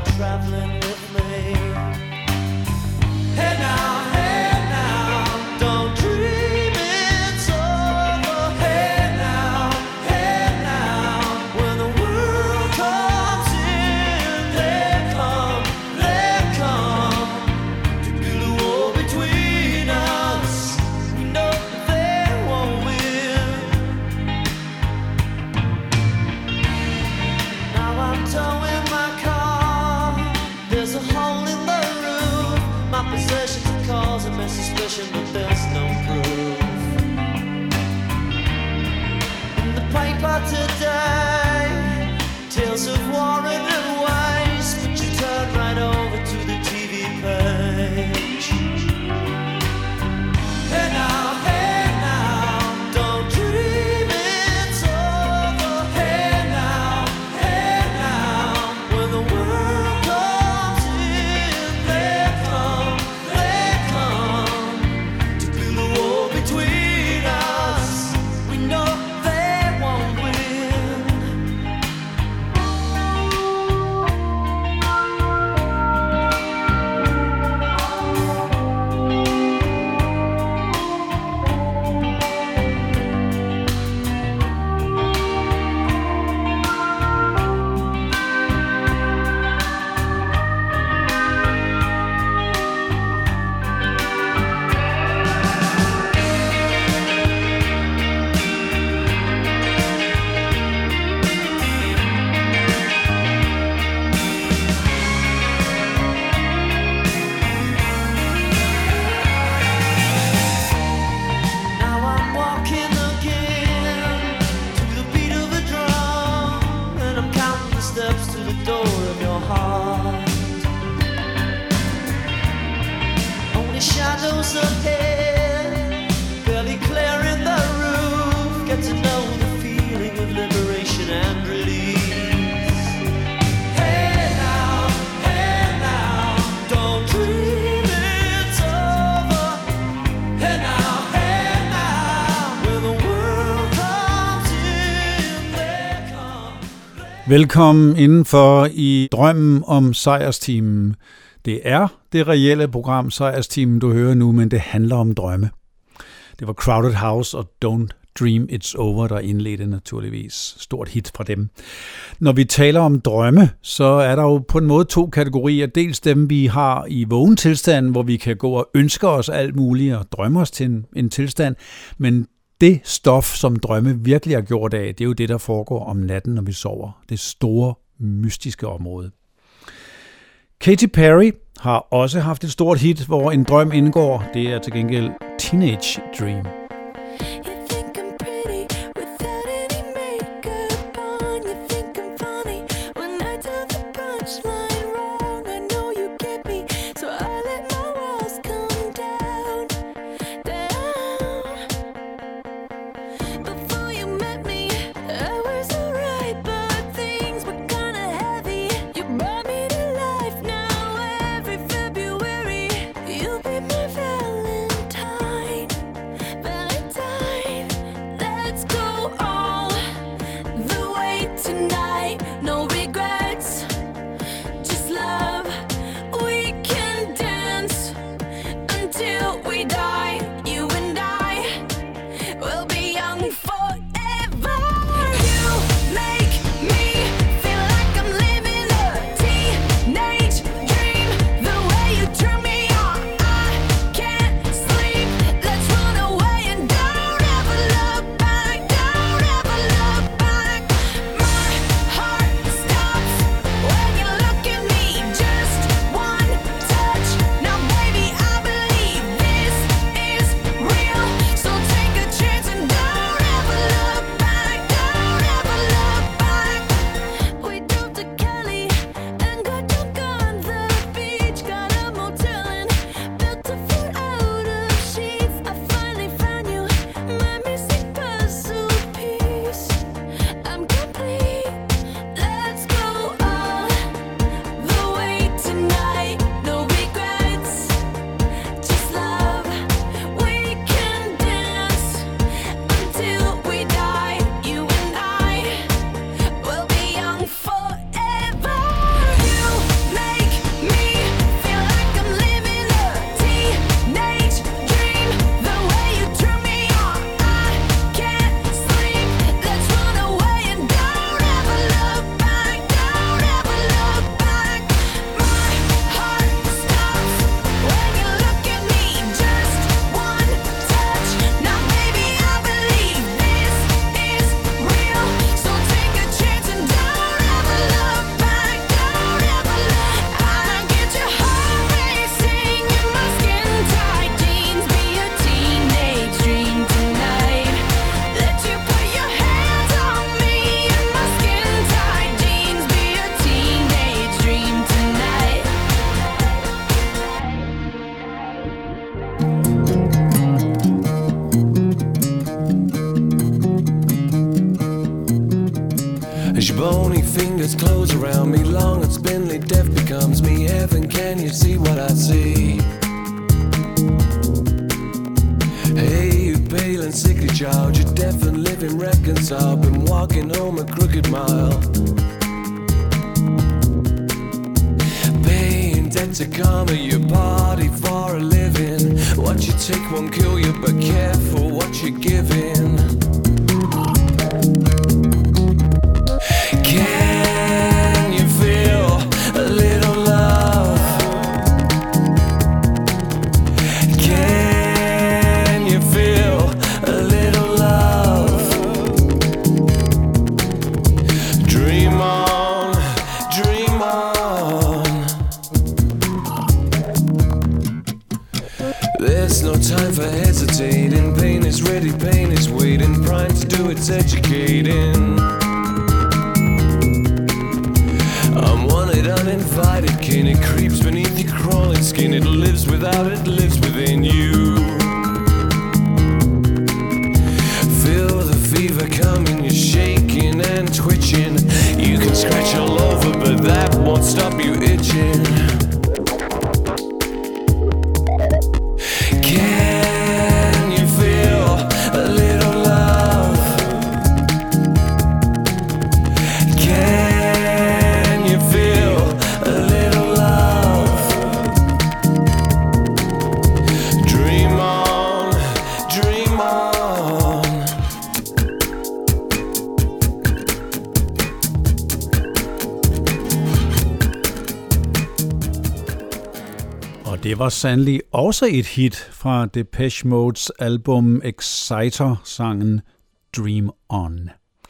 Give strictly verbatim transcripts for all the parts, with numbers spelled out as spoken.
traveling with me. Hey now, hey now, don't dream it's over. Hey now, hey now, when the world comes in, they come, they come to build a wall between us. We know they won't win. Now I'm towing my car. There's a hole in the roof. My possessions are causing me suspicion, but there's no proof. In the paper today, tales of war and waste, but you turn right over to the T V page. Hey now, hey now, don't dream it's over. Hey now, hey now, when the world comes in, they come, they come to build a wall between us. We know they won't win. Now I'm walking again to the beat of a drum, and I'm counting the steps to the door of your heart. Only shadows ahead, barely clearing the roof. Get to know the feeling of liberation and release. Hey now, hey now, don't dream it's over. Hey now, hey now, when the world comes in, they come. Velkommen indenfor i drømmen om sejrsteamen. Det er det reelle program Sejrsteamen, du hører nu, men det handler om drømme. Det var Crowded House og Don't Dream It's Over, der indledte naturligvis. Stort hit fra dem. Når vi taler om drømme, så er der jo på en måde to kategorier. Dels dem, vi har i vågen tilstand, hvor vi kan gå og ønske os alt muligt og drømme os til en, en tilstand. Men det stof, som drømme virkelig har gjort af, det er jo det, der foregår om natten, når vi sover. Det store, mystiske område. Katy Perry har også haft et stort hit, hvor en drøm indgår. Det er til gengæld Teenage Dream. You think I'm pretty without any makeup on. You think I'm funny when I tell the punchline wrong. I know you get me, so I let my walls come down, down. Before you met me, I was alright, but things were kinda heavy. You brought me to life now. Every February, you'll be my Valentine, Valentine. Bony fingers close around me, long and spindly death becomes me. Heaven, can you see what I see? Hey, you pale and sickly child, you're deaf and living reconciled. Been walking home a crooked mile. Paying debt to karma, your party for a living. What you take won't kill you, but careful what you're giving. Can you feel a little love? Can you feel a little love? Dream on, dream on. There's no time for hesitating. Pain is ready, pain is waiting. Prime to do its educating. I'm wanted, uninvited kin. It creeps beneath your crawling skin. It lives without, it lives within you. Feel the fever coming, you're shaking and twitching. You can scratch all over, but that won't stop you itching. Can you feel a little love? Can you feel a little love? Dream on, dream on. Og det var sandelig også et hit fra Depeche Modes album Exciter-sangen Dream On.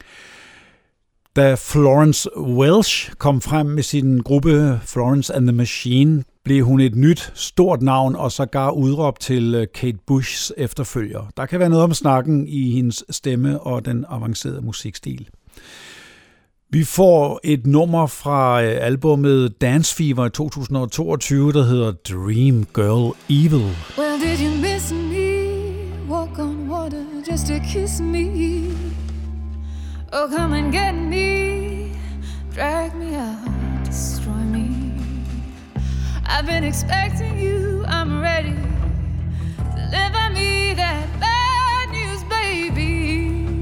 Da Florence Welch kom frem med sin gruppe Florence and the Machine, blev hun et nyt stort navn og sågar udråbt til Kate Bushs efterfølger. Der kan være noget om snakken i hendes stemme og den avancerede musikstil. Vi får et nummer fra albumet Dance Fever i to tusind og toogtyve, der hedder Dream Girl Evil. Well, did you miss me? Walk on water just to kiss me. Oh, come and get me. Drag me out, destroy me. I've been expecting you, I'm ready. Deliver me that bad news, baby.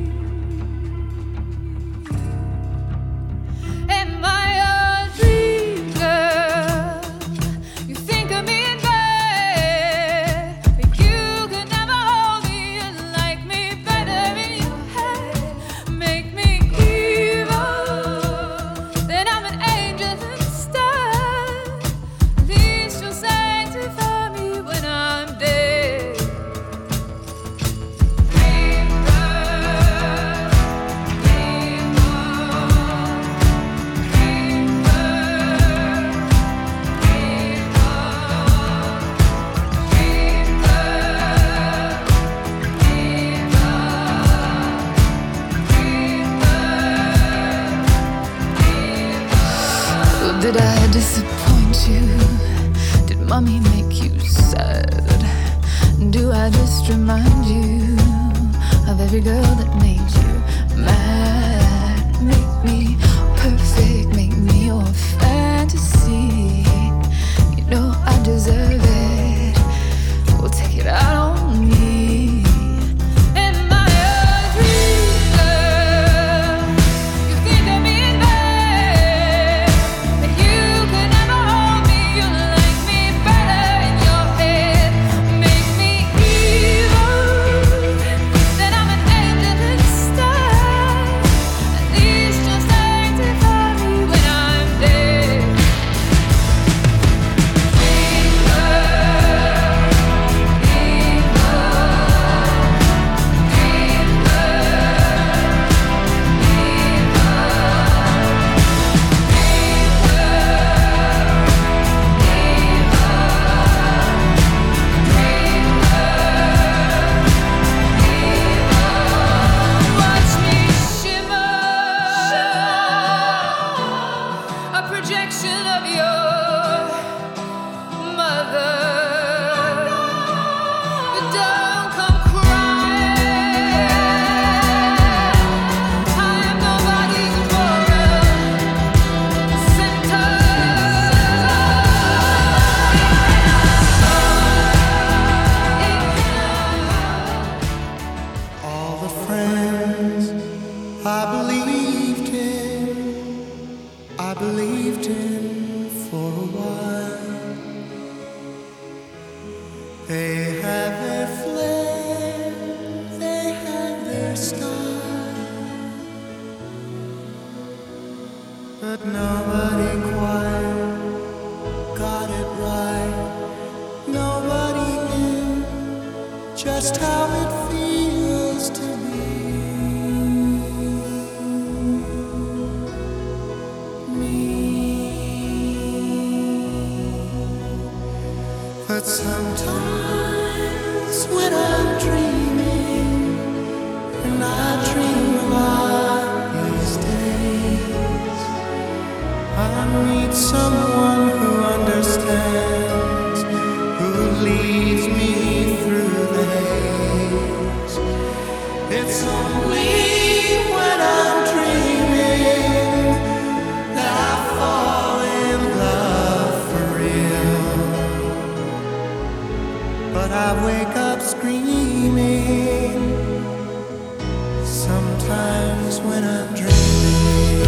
Am I a dream girl? You think of me in bed, but you could never hold me and like me better in your head. Make me evil, then I'm an angel instead. At least you'll sanctify me when I'm dead. Dream girl, dream on. Dream girl, dream on. Dream girl, dream on. Dream girl, dream on. Did I disappoint you? Did mommy make you sad? Do I just remind you of every girl that made you mad? Make me perfect, make me your fantasy. You know I deserve it. We'll take it out on me. Am I a dream girl? You think of me in bed, but you could never hold me. You like me better in your head. Make me evil, then I'm an angel instead. believed in for a while. They have their flair, they have their style, but nobody quite got it right. Nobody knew just how it feels to be but sometimes when I'm dreaming, and I dream a lot these days, I meet someone who understands, who leads me through the haze. It's only when I'm dreaming that I fall in love for real. But I wake up screaming sometimes when I'm dreaming.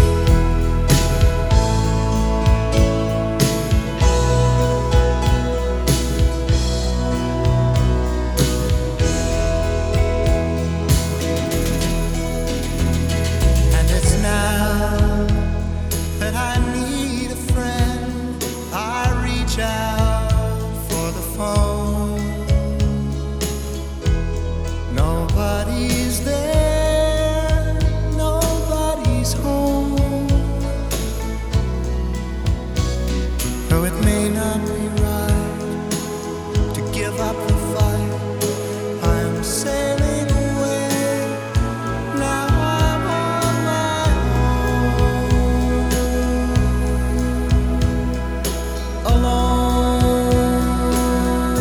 And it's now that I need a friend, I reach out for the phone. Nobody's there, nobody's home. Though it may not be right to give up the fight, I'm sailing away. Now I'm on my own, alone.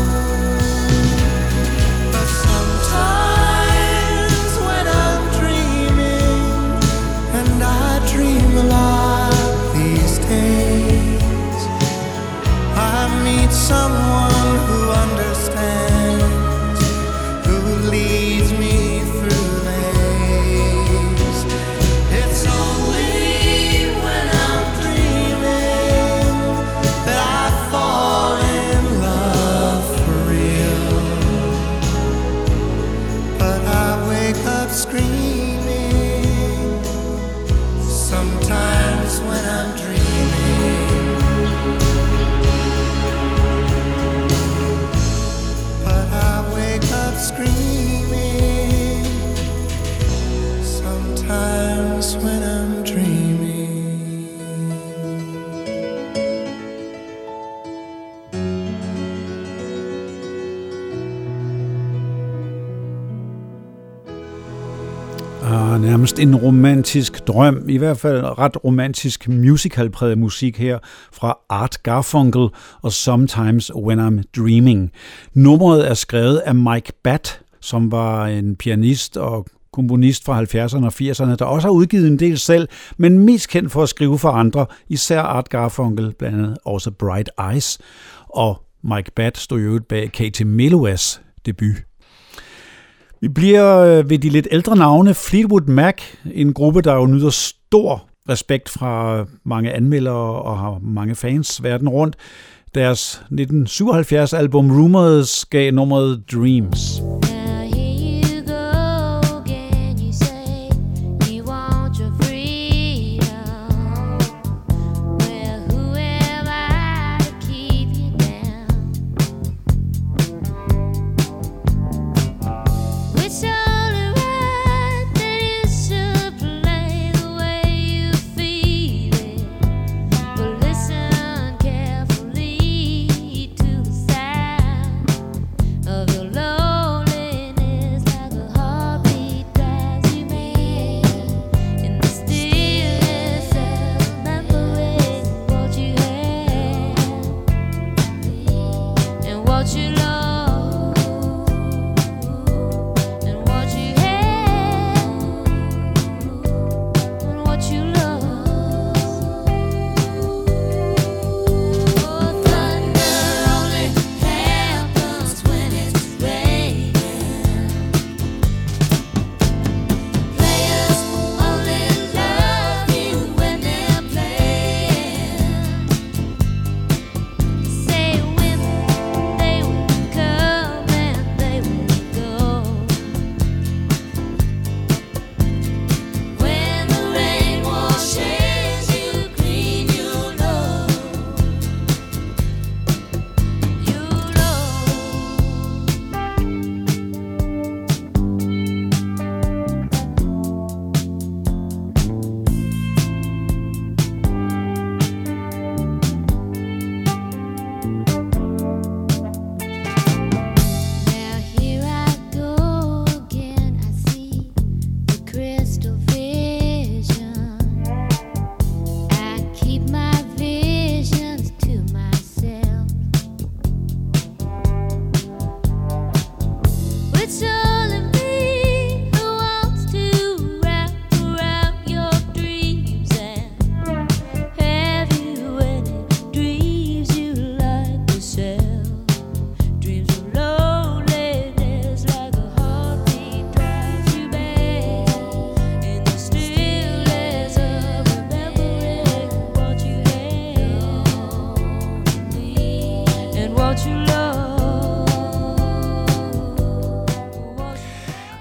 But sometimes when I'm dreaming, and I dream a lot these days, I meet someone who understands, who leads me through the haze. It's only when I'm dreaming that I fall in love for real. But I wake up screaming sometimes when I'm dreaming. But I wake up screaming sometimes when I'm dreaming. Ah, nærmest en romantisk drøm, i hvert fald ret romantisk musicalpræget musik her fra Art Garfunkel og Sometimes When I'm Dreaming. Nummeret er skrevet af Mike Batt, som var en pianist og komponist fra halvfjerdserne og firserne, der også har udgivet en del selv, men mest kendt for at skrive for andre, især Art Garfunkel, blandt andet også Bright Eyes, og Mike Batt stod jo bag Katie Melloas debut. Vi bliver ved de lidt ældre navne. Fleetwood Mac, en gruppe, der jo nyder stor respekt fra mange anmeldere og har mange fans verden rundt. Deres nitten syvoghalvfjerds album Rumors gav nummeret Dreams. Of your lonely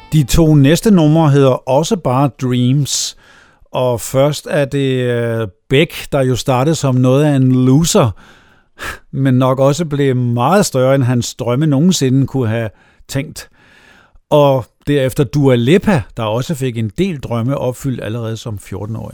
De to næste numre hedder også bare Dreams, og først er det Beck, der jo startede som noget af en loser, men nok også blev meget større, end hans drømme nogensinde kunne have tænkt. Og derefter Dua Lipa, der også fik en del drømme opfyldt allerede som fjorten-årig.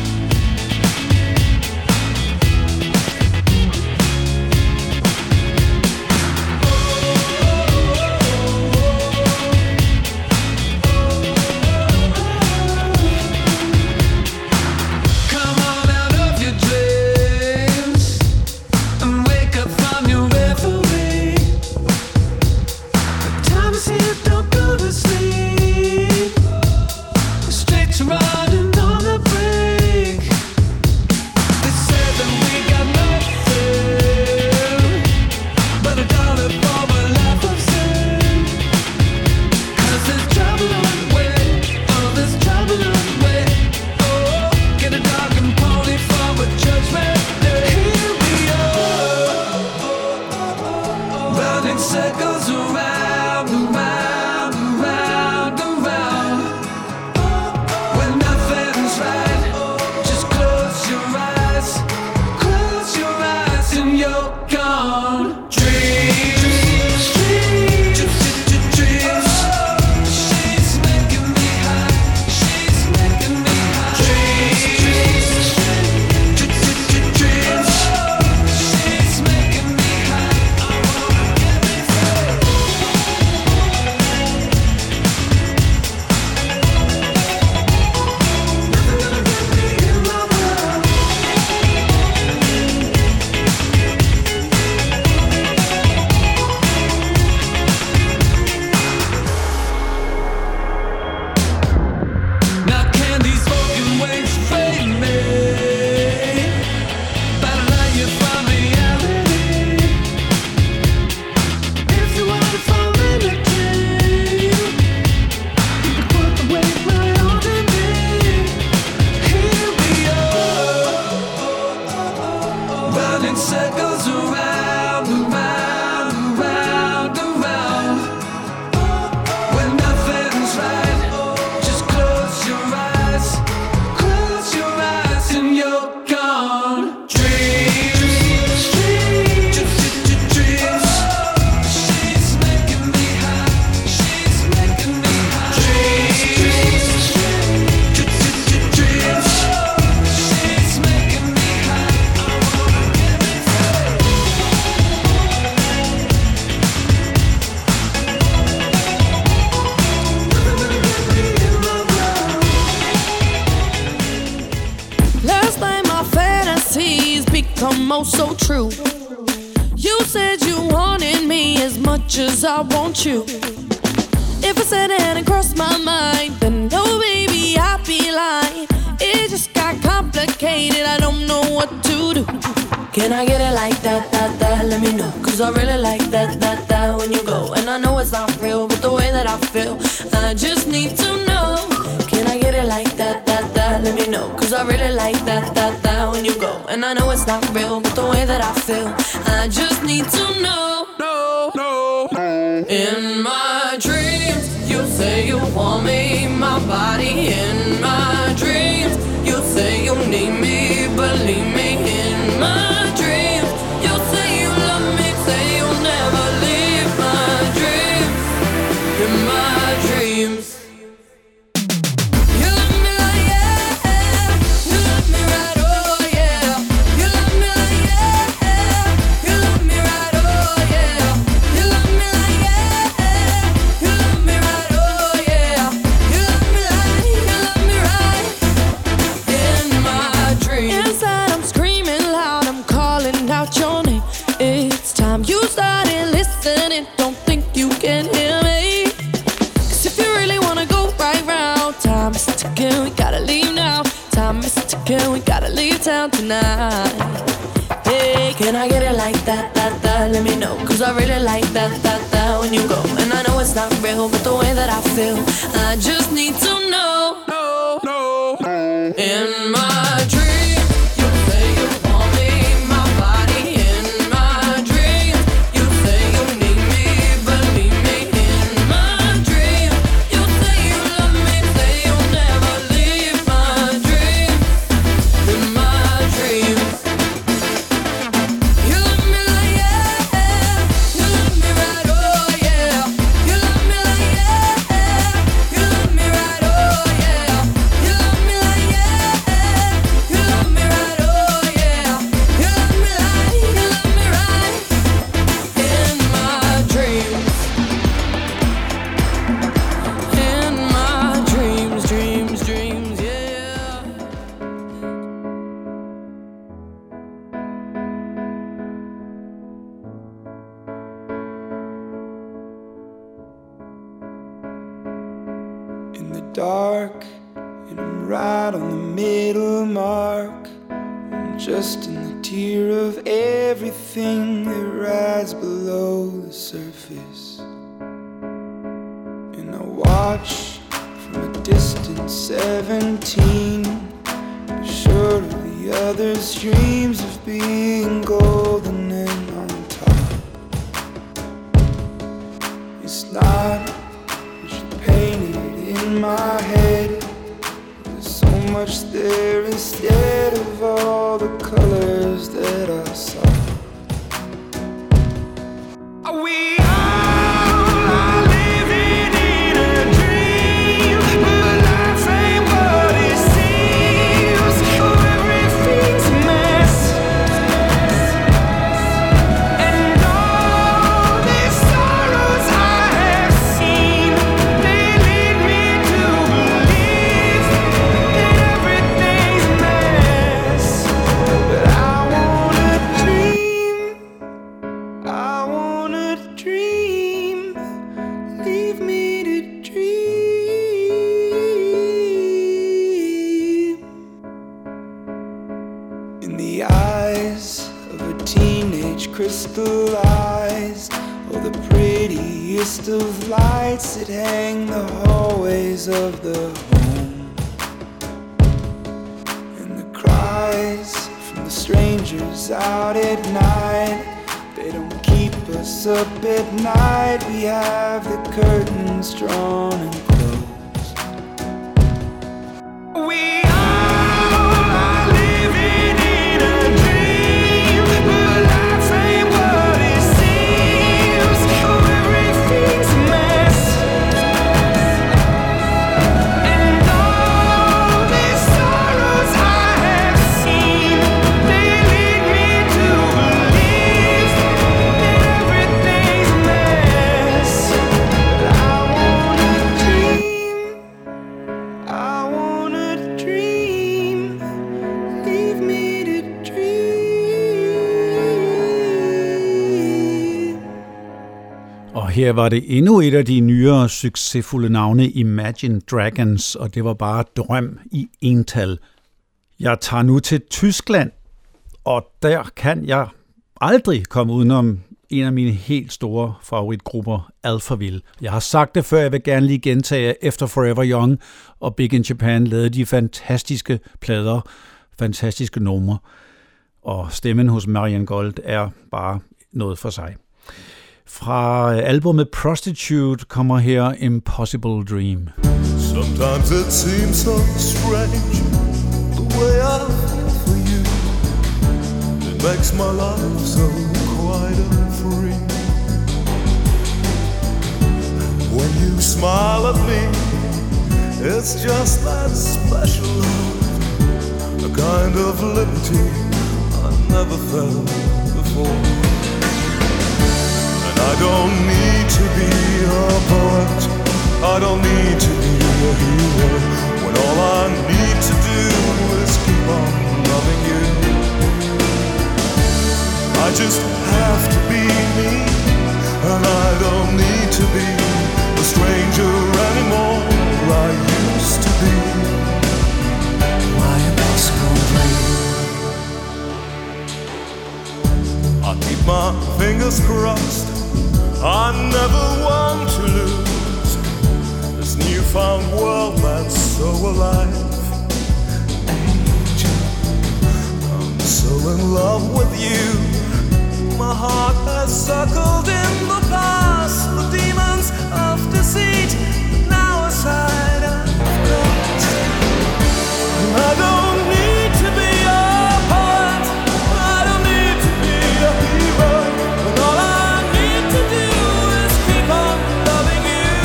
Riding on the brink. They said that we got nothing but a dollar for a life of sin. 'Cause there's trouble on the way. Oh, there's trouble on the way. Oh, get a dog and pony for a judgment day. Here we are, running circles around, around, around, around. When nothing's right, just close your eyes, close your eyes and you're gone. Dreams, dreams, dreams, dreams. She's making me high, she's making me high. Dreams, dreams, dreams. She's making me high. I wanna get me free. Now can these broken wings fade me? Better let you find reality. If you wanna fall in a dream, you can put the weight right onto me. Here we are, running circles around, around, around, around. When nothing's right, just close your eyes, close your eyes and you're gone. Dreams, dreams, dreams. She's making me high, she's making me high. Dreams, dreams, dreams. She's making me high. I wanna get me free. Last night my fantasies become oh so true. You said you wanted me as much as I want you. If I said it hadn't crossed my mind, then no baby I'd be lying. It just got complicated, I don't know what to do. Can I get it like that, that, that, let me know. Cause I really like that, that, that when you go. And I know it's not real, but the way that I feel, I just need to know. Can I get it like that, that, that, let me know. Cause I really like that, that, that when you go. And I know it's not real, but the way that I feel, I just need to know. No, no, no. In my dreams, you say you want me, my body. In my dreams, you say you need me, believe me. In my dreams, you say you love me, say you'll never leave my dreams. In my dreams. You love me like yeah, you love me right, oh yeah. You love me like yeah, you love me right, oh yeah. You love me like yeah, you love me right, oh yeah. You love me like, you love me right. In my dreams. Inside I'm screaming loud, I'm calling out your name. It's time you started listening, don't think you can hear me. Cause if you really wanna go right round, time is ticking, we gotta leave now. Time is ticking, we gotta leave town tonight. Hey, can I get it like that, that, that, let me know. Cause I really like that, that, that when you go. And I know it's not real, but the way that I feel, I just need to know. No, no, no. In my dreams, you say you want me, my body. In my dreams, you say you need me, believe me. In my dreams, you say dark, and I'm right on the middle mark. I'm just in the tier of everything that rides below the surface. And I watch from a distant seventeen, short of the others' dreams of being golden and on top. It's not what you painted in my head. There's so much there instead of all the colors that I saw. We all are living in a dream, but life ain't what it seems. Oh, everything's a mess, and all these sorrows I have seen, they lead me to believe that everything's a mess. But I wanna dream, I wanna dream, leave me to dream. In the eyes of a teenage crystallized, oh, the prettiest of lights that hang the hallways of the home. And the cries from the strangers out at night, they don't keep us up at night. We have the curtains drawn and closed. We all are living in a dream, but life ain't what it seems. Oh, everything's a mess, and all these sorrows I have seen, they lead me to believe that everything's a mess. But I wanna dream, I wanna dream, leave me to dream. Og her var det endnu et af de nyere succesfulde navne, Imagine Dragons, og det var bare drøm i ental. Jeg tager nu til Tyskland, og der kan jeg aldrig komme udenom en af mine helt store favoritgrupper, Alphaville. Jeg har sagt det før, jeg vil gerne lige gentage, efter Forever Young og Big in Japan lavede de fantastiske plader, fantastiske numre, og stemmen hos Marianne Gold er bare noget for sig. Fra albumet Prostitute kommer her Impossible Dream. Sometimes it seems so strange, the way I feel for you. It makes my life so quiet and free. When you smile at me, it's just that special love, a kind of liberty I never felt before. And I don't need to be a poet, I don't need to be a hero, when all I need to do is keep on loving you. I just have to be me, and I don't need to be a stranger anymore. I used to be my impossible dream. I keep my fingers crossed, I never want to lose this newfound world that's so alive. Angel, I'm so in love with you. My heart has circled in the past the demons of deceit that now aside I've got. I don't need to be a poet, I don't need to be a hero, when all I need to do is keep on loving you.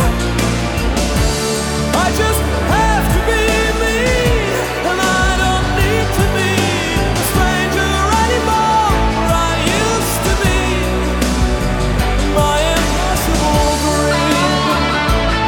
I just have to be me, and I don't need to be a stranger anymore. I used to be my impossible dream.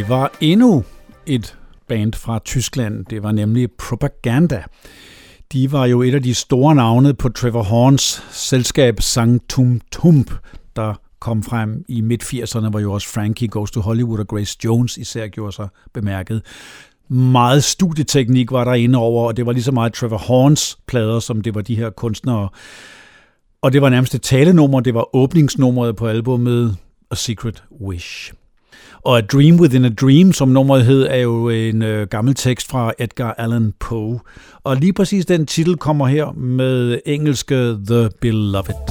Det var endnu et band fra Tyskland. Det var nemlig Propaganda. De var jo et af de store navne på Trevor Horns selskab Sanctum Tump, der kom frem i midt firserne, hvor jo også Frankie Goes to Hollywood og Grace Jones især gjorde sig bemærket. Meget studieteknik var der inde over, og det var lige så meget Trevor Horns plader, som det var de her kunstnere. Og det var nærmest et talenummer, det var åbningsnummeret på albumet A Secret Wish. Og A Dream Within a Dream, som nummeret hed, er jo en øh, gammel tekst fra Edgar Allan Poe. Og lige præcis den titel kommer her med engelske The Beloved.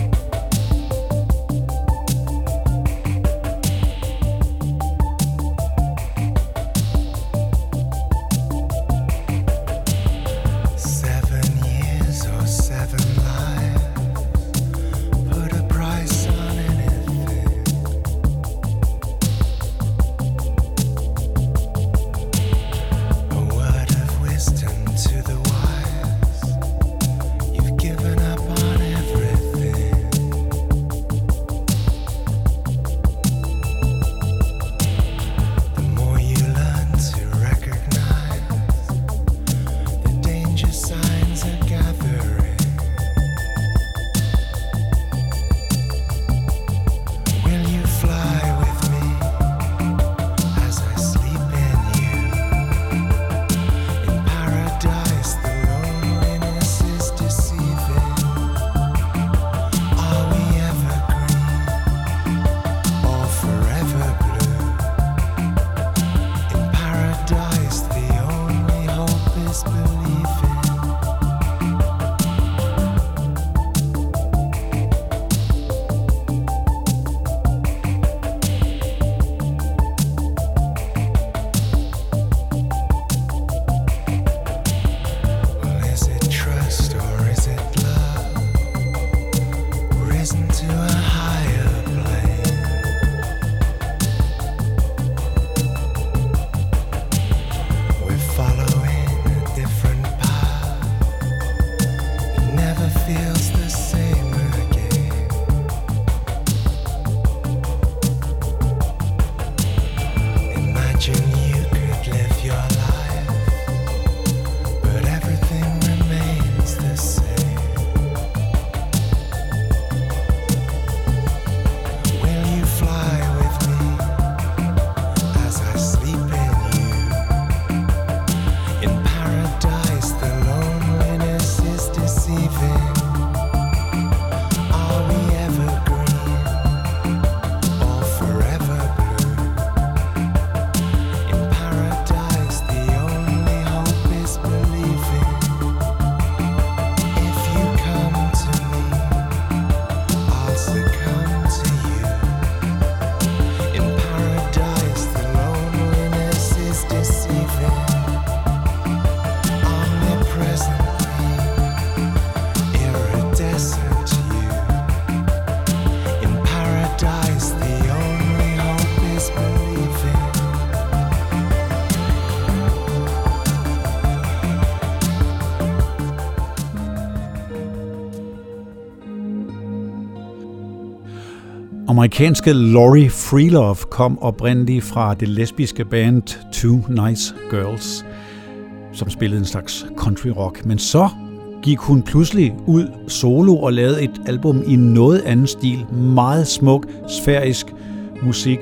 Amerikanske Laurie Freelove kom oprindeligt fra det lesbiske band Two Nice Girls, som spillede en slags country rock. Men så gik hun pludselig ud solo og lavede et album i noget anden stil. Meget smuk, sfærisk musik.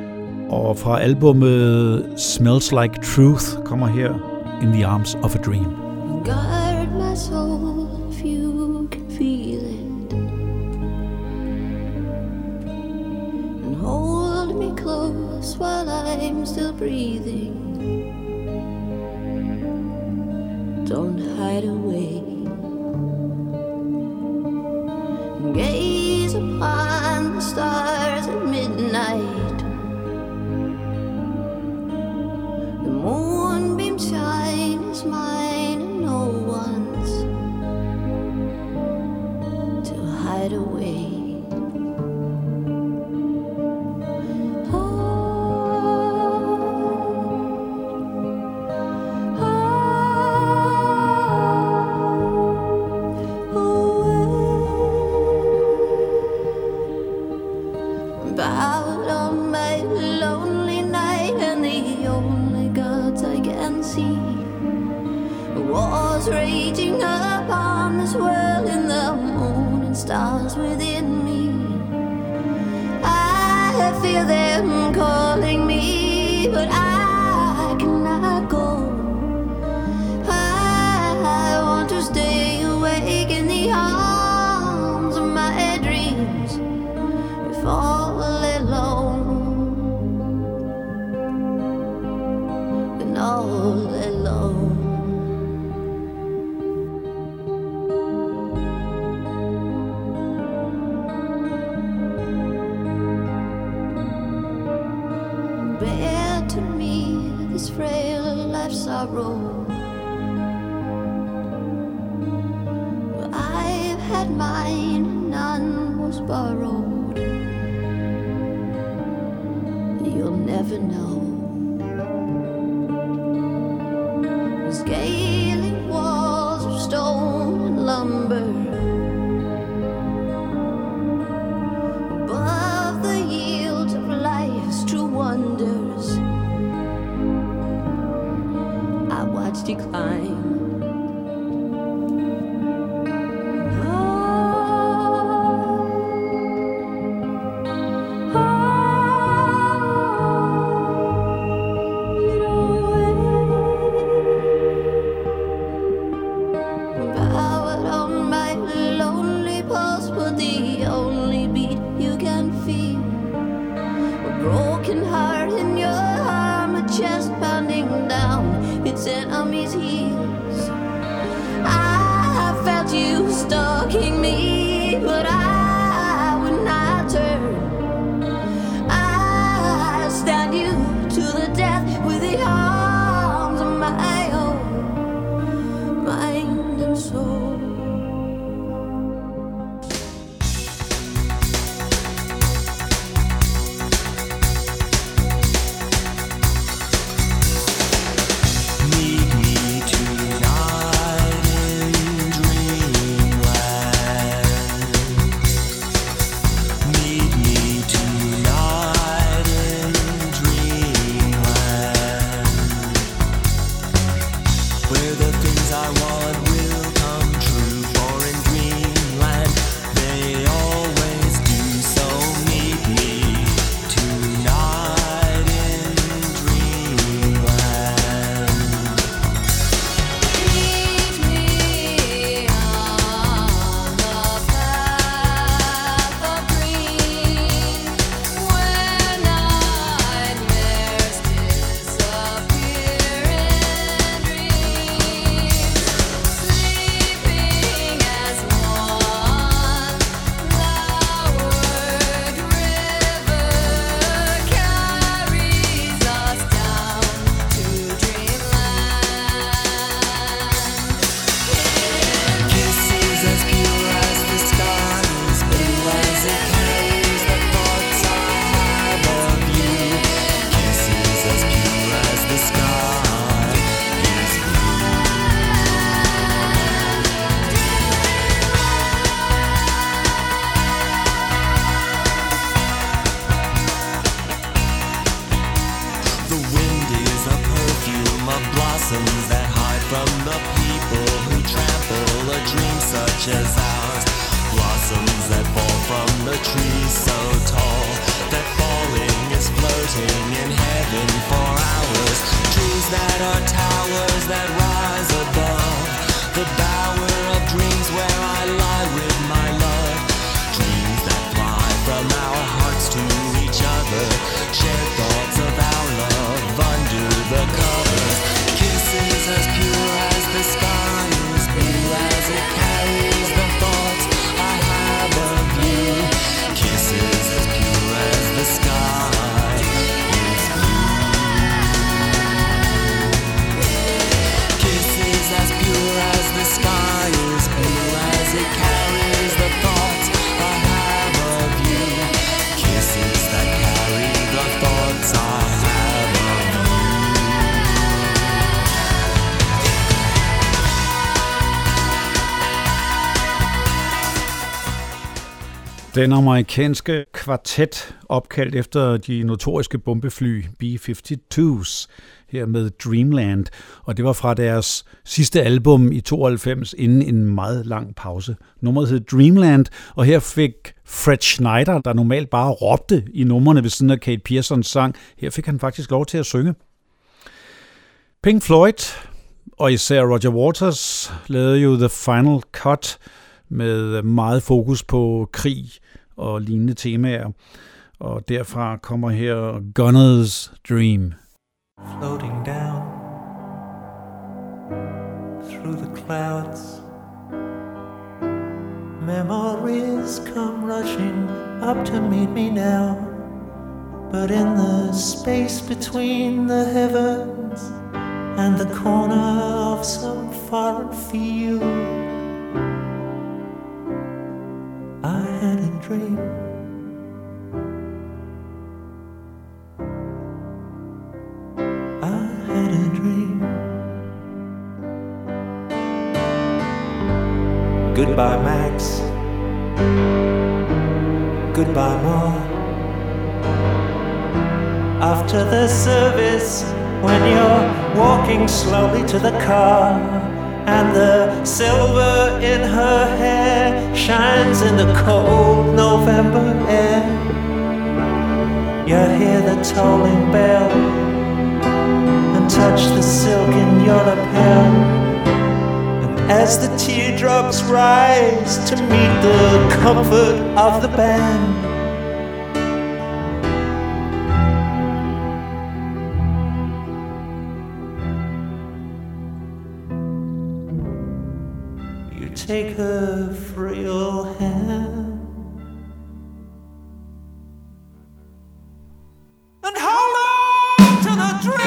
Og fra albumet Smells Like Truth kommer her In the Arms of a Dream. Guard my soul if you can feel it. And hold me close while I'm still breathing. Don't hide away. Gaze upon the stars at midnight. The moonbeam shine is mine and no one's to hide away. Oh, oh, was raging upon this world in the moon and stars within me. I feel them calling me, but I cannot go. I want to stay awake in the arms of my dreams, if all alone, and all alone. Bear to me this frail life sorrow. I've had mine, none was borrowed. You'll never know. Scaling walls of stone and lumber, above the yield of life's true wonders, I watched you climb. Enemy's heels. I felt you stalking me, but I would not turn. I stand you to the death with the arms of my own, mind and soul. Den amerikanske kvartet, opkaldt efter de notoriske bombefly B firs, her med Dreamland, og det var fra deres sidste album i tooghalvfems, inden en meget lang pause. Nummeret hed Dreamland, og her fik Fred Schneider, der normalt bare råbte i numrene ved siden af Kate Pearsons sang, her fik han faktisk lov til at synge. Pink Floyd, og især Roger Waters, lavede jo The Final Cut med meget fokus på krig og lignende temaer. Og derfra kommer her Gunner's Dream. Floating down through the clouds, memories come rushing up to meet me now. But in the space between the heavens and the corner of some foreign field, I had a dream. I had a dream. Goodbye, Max. Goodbye, Ma. After the service, when you're walking slowly to the car, and the silver in her hair shines in the cold November air, you hear the tolling bell and touch the silk in your lapel. And as the teardrops rise to meet the comfort of the band, take her frail hand and hold on to the dream.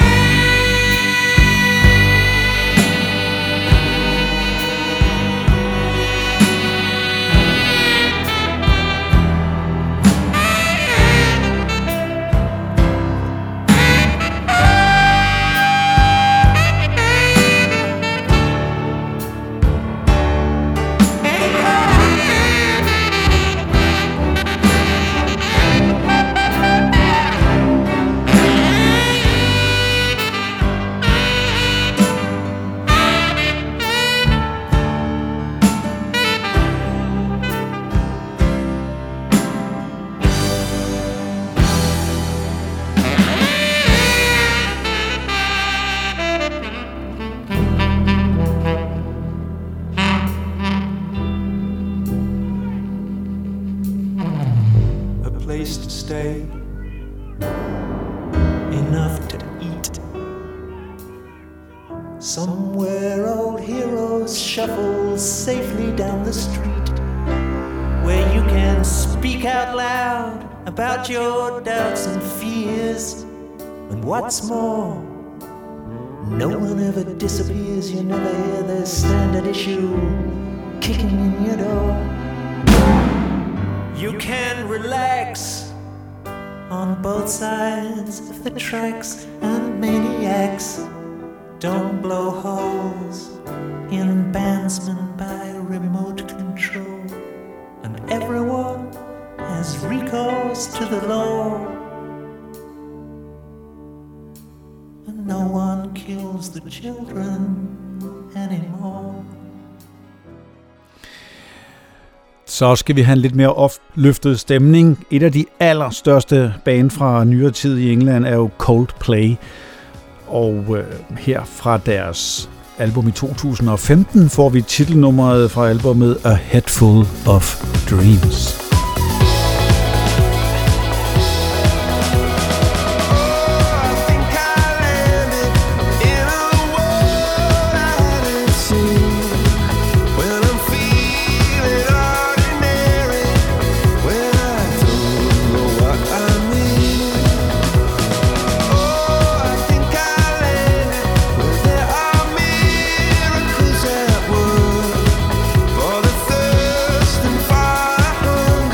About your doubts and fears, and what's more, no one ever disappears. You never hear the standard issue kicking in your door. You can relax on both sides of the tracks, and maniacs don't blow holes in bandsmen by remote control, and everyone has recourse to the law, and no one kills the children anymore. Så skal vi have en lidt mere opløftet stemning. Et af de allerstørste band fra nyere tid i England er jo Coldplay, og øh, her fra deres album i to tusind og femten får vi titelnummeret fra albumet A Head Full of Dreams. For the thirst and fire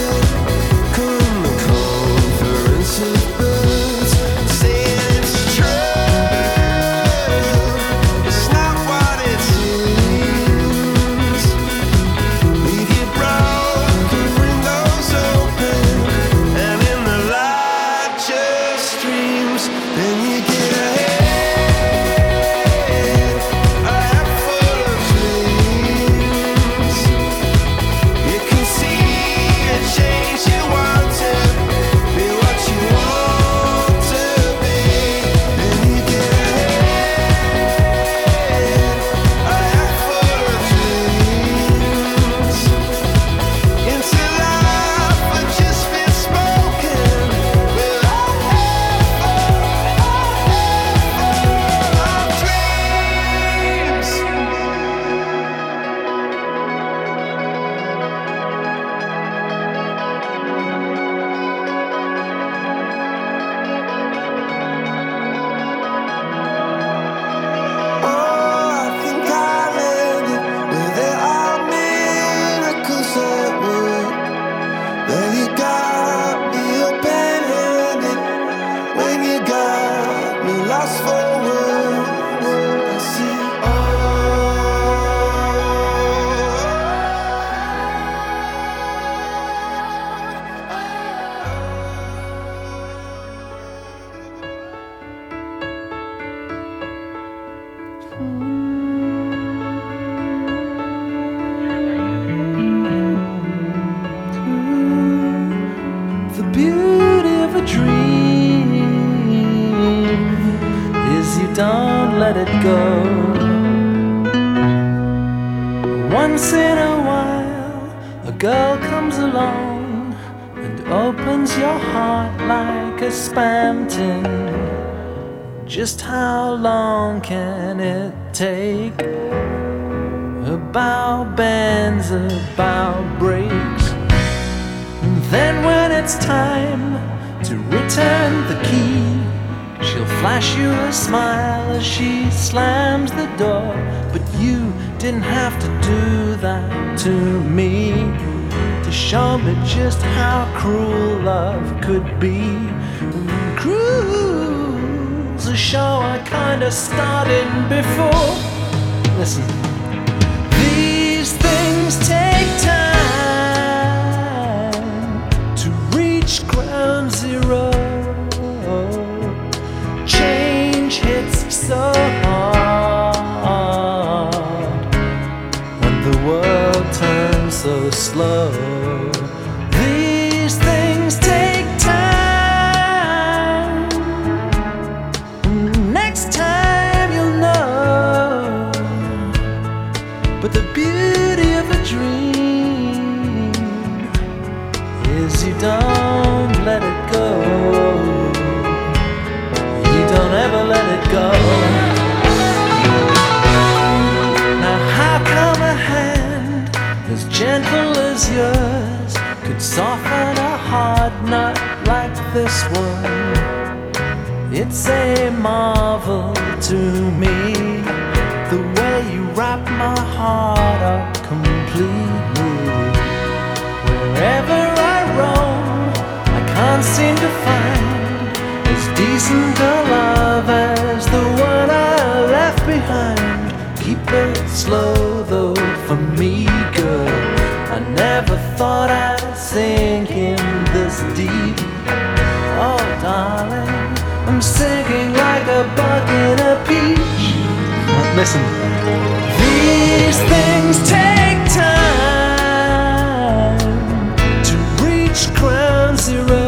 once in a while a girl comes along and opens your heart like a spam tin. Just how long can it take? A bow bends, a bow breaks. And then when it's time to return the key, she'll flash you a smile as she slams the door. But you didn't have to do that to me, to show me just how cruel love could be. And cruel's a show I kinda started before. Listen, these things take time to reach ground zero. Change hits so hard when the world turns so slow. These things take time. Next time you'll know. But the beauty of a dream is you don't let it go. Don't ever let it go. Now how come a hand as gentle as yours could soften a hard nut like this one? It's a marvel to me, the way you wrap my heart up completely. Wherever I roam, I can't seem to find as decent a love as the one I left behind. Keep it slow though for me, girl. I never thought I'd sink in this deep. Oh darling, I'm sinking like a bug in a peach. Listen, these things take time to reach ground zero.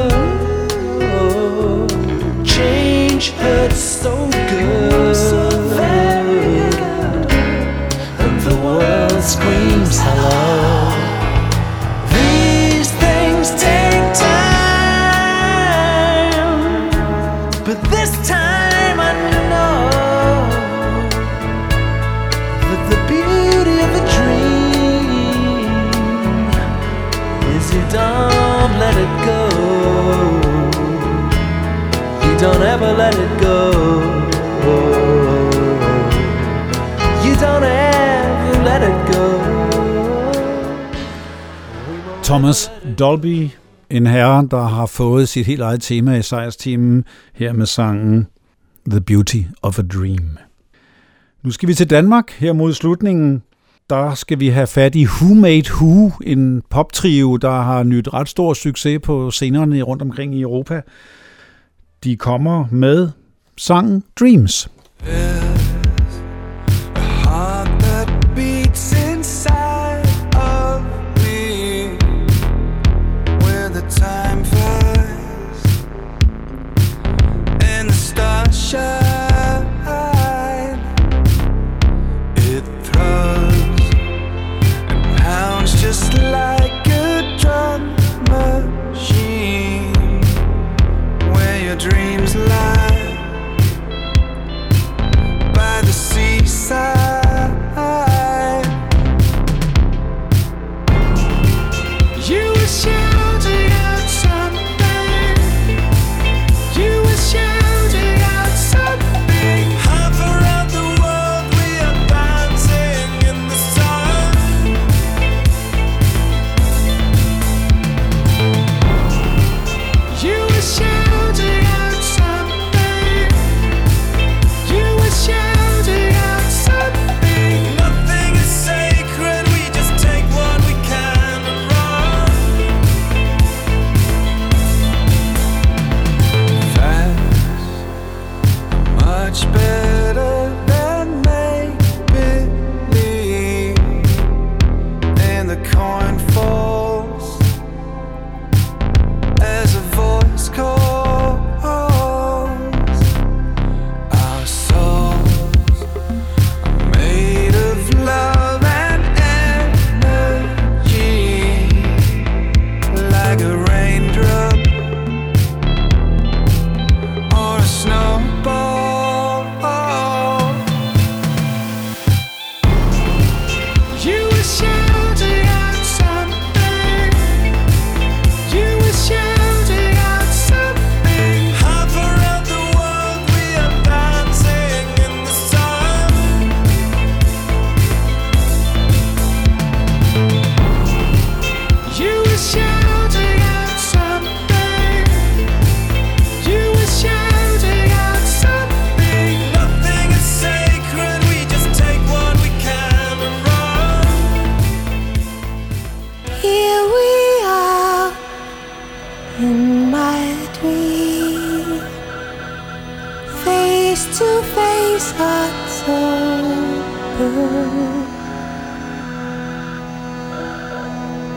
Change hurts so good, so very good, and the world screams hello. These things take time, but this time I know that the beauty of a dream is you don't let it go. Don't ever let it go. You don't ever let it go. Thomas Dolby, en herre, der har fået sit helt eget tema i sejrsteamen, her med sangen The Beauty of a Dream. Nu skal vi til Danmark her mod slutningen. Der skal vi have fat i Who Made Who, en poptrio, der har nydt ret stor succes på scenerne rundt omkring i Europa. De kommer med sangen Dreams. A heart that beats inside of me, where the time flies and the stars shine. It throws and pounds just like a drum machine, where your dreams lie.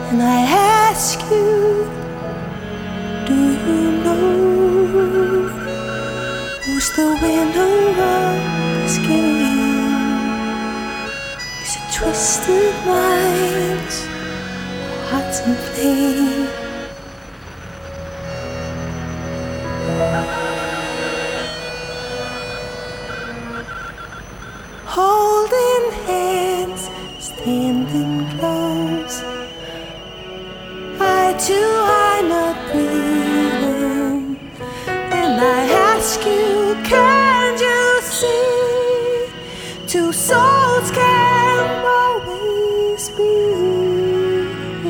And I ask you, do you know who's the winner of this game? Is it twisted minds or hearts in flame? Holding hands, standing close, eye to eye, not breathing. And I ask you, can you see? Two souls can always be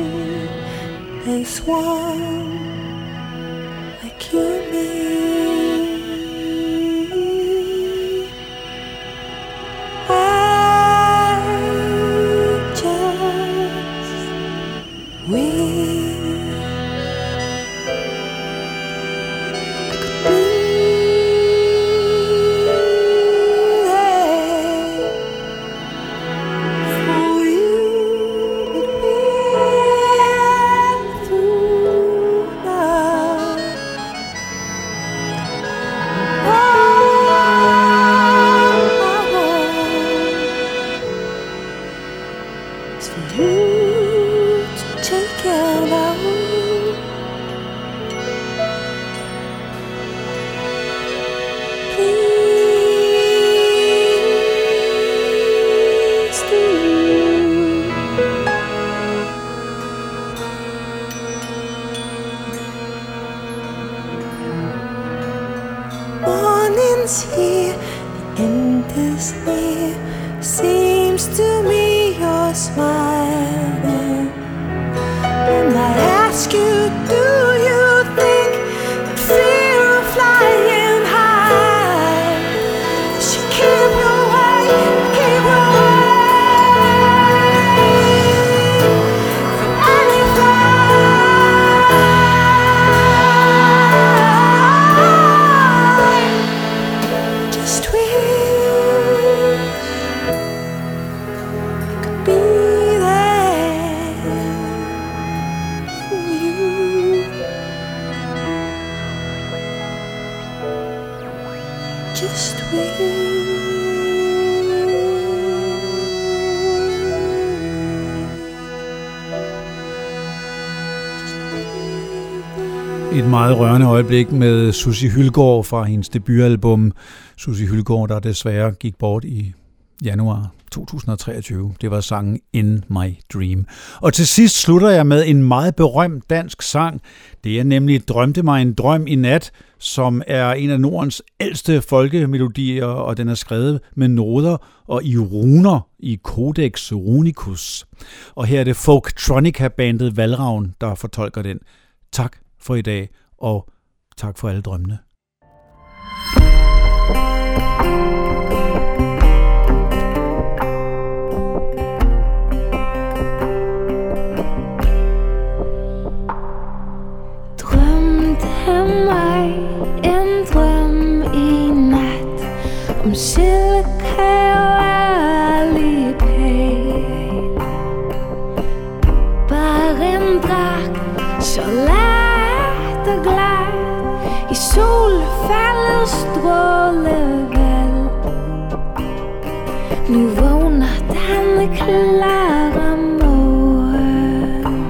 as one, like you and me. Morning's here, the end is near. Seems to me you're smiling. And I ask you, do you think that fear of flying high should keep you away, keep you away from any flight? Just wish could be there for you. Just wish. Et meget rørende øjeblik med Sussi Hyldgaard fra hendes debutalbum. Sussi Hyldgaard, der desværre gik bort i januar to tusind og treogtyve. Det var sangen In My Dream. Og til sidst slutter jeg med en meget berømt dansk sang. Det er nemlig Drømte mig en drøm i nat, som er en af Nordens ældste folkemelodier, og den er skrevet med noder og i runer i Codex Runicus. Og her er det Folktronica-bandet Valravn, der fortolker den. Tak for i dag, og tak for alle drømmene. Drømte mig en drøm i nat om silke og ærlig pæl. Bare en dragt så let og glad i solfaldets strålevæld. Nu vågner denne klare morgen.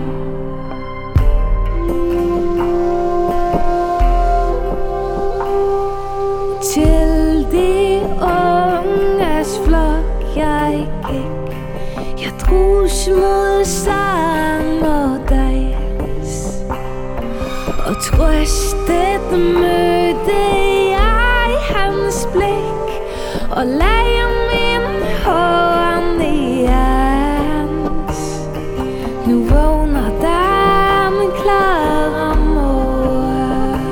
Til de unges flok jeg gik, jeg drus mod sang og dans, og trøstet mødte jeg hans blik, og lagde min hånd i hans. Nu vågner den klare morgen.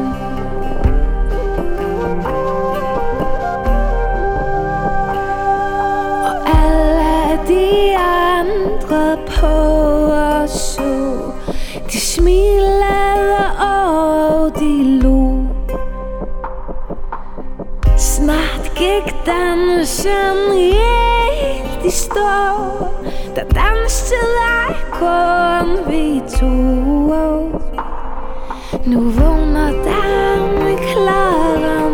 Og alle de andre på os så, de smilede og de lo. Snart gik dansen helt de står der dans til dig, kun vi to. Nu vågner der med klare